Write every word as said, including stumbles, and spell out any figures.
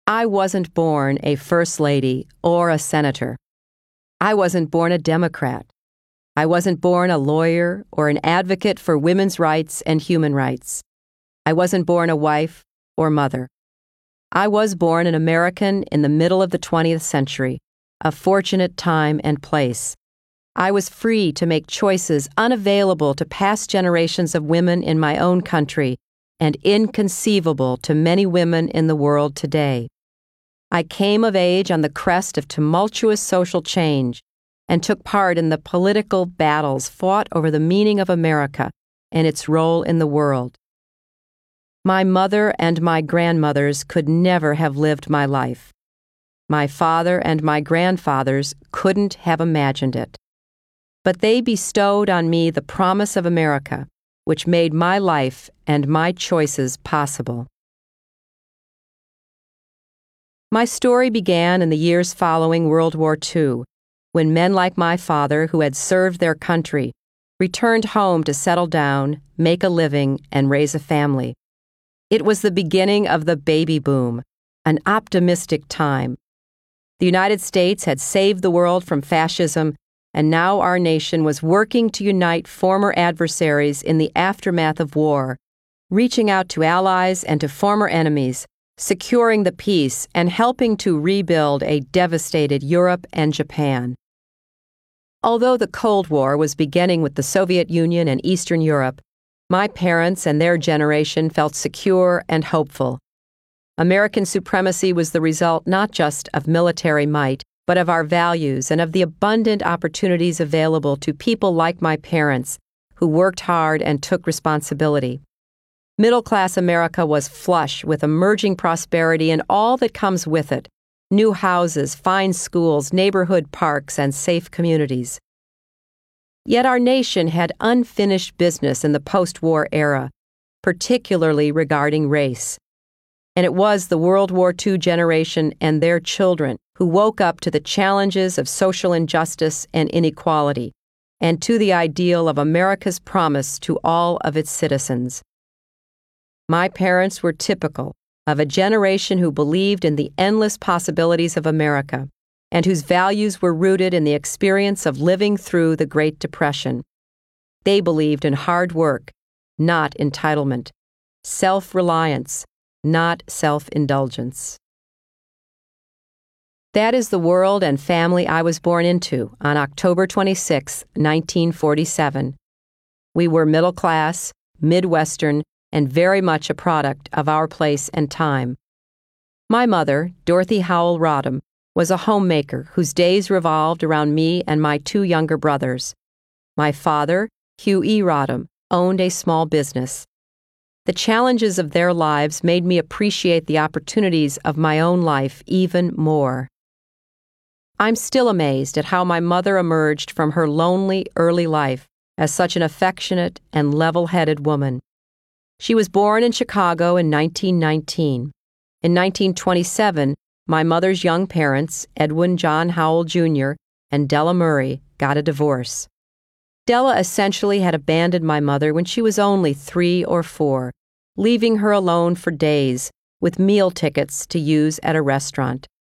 I wasn't born a first lady or a senator. I wasn't born a Democrat. I wasn't born a lawyer or an advocate for women's rights and human rights. I wasn't born a wife or mother. I was born an American in the middle of the twentieth century, a fortunate time and place. I was free to make choices unavailable to past generations of women in my own country and inconceivable to many women in the world today. I came of age on the crest of tumultuous social change and took part in the political battles fought over the meaning of America and its role in the world. My mother and my grandmothers could never have lived my life. My father and my grandfathers couldn't have imagined it. But they bestowed on me the promise of America, which made my life and my choices possible. My story began in the years following World War Two, when men like my father, who had served their country, returned home to settle down, make a living, and raise a family. It was the beginning of the baby boom, an optimistic time. The United States had saved the world from fascism, and now our nation was working to unite former adversaries in the aftermath of war, reaching out to allies and to former enemies, securing the peace and helping to rebuild a devastated Europe and Japan. Although the Cold War was beginning with the Soviet Union and Eastern Europe, my parents and their generation felt secure and hopeful. American supremacy was the result not just of military might, but of our values and of the abundant opportunities available to people like my parents, who worked hard and took responsibility. Middle-class America was flush with emerging prosperity and all that comes with it: new houses, fine schools, neighborhood parks, and safe communities. Yet our nation had unfinished business in the post-war era, particularly regarding race. And it was the World War Two generation and their children who woke up to the challenges of social injustice and inequality, and to the ideal of America's promise to all of its citizens. My parents were typical of a generation who believed in the endless possibilities of America, and whose values were rooted in the experience of living through the Great Depression. They believed in hard work, not entitlement, self-reliance, not self-indulgence. That is the world and family I was born into on October twenty-sixth, nineteen forty-seven. We were middle class, Midwestern, and very much a product of our place and time. My mother, Dorothy Howell Rodham, was a homemaker whose days revolved around me and my two younger brothers. My father, Hugh E. Rodham, owned a small business. The challenges of their lives made me appreciate the opportunities of my own life even more. I'm still amazed at how my mother emerged from her lonely early life as such an affectionate and level-headed woman. She was born in Chicago in nineteen nineteen. In nineteen twenty-seven, my mother's young parents, Edwin John Howell Junior and Della Murray, got a divorce. Della essentially had abandoned my mother when she was only three or four, leaving her alone for days with meal tickets to use at a restaurant.